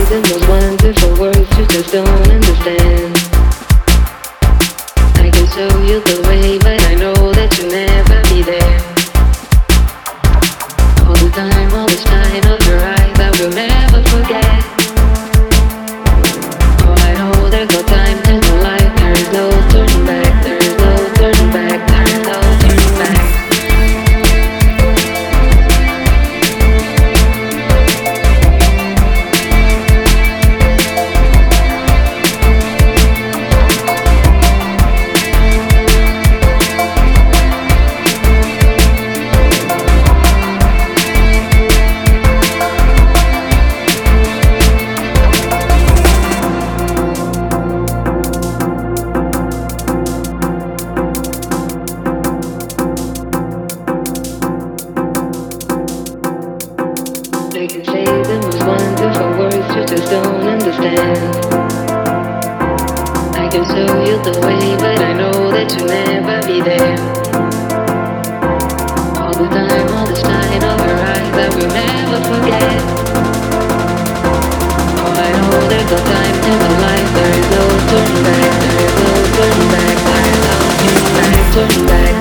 the most wonderful words you just don't understand. I can show you the way, but I know that you'll never be there. All the time, all the shine of your eyes, I will never forget. Oh, I know there's no time in my life, there is no turning back, there is no turning back, there is no turning back. I can say the most wonderful words you just don't understand. I can show you the way, but I know that you'll never be there. All the time, all the shine of your eyes, I will never forget. Oh, I know there's no time in my life, there is no turning back, there is no turning back, there is no turning back, turning back.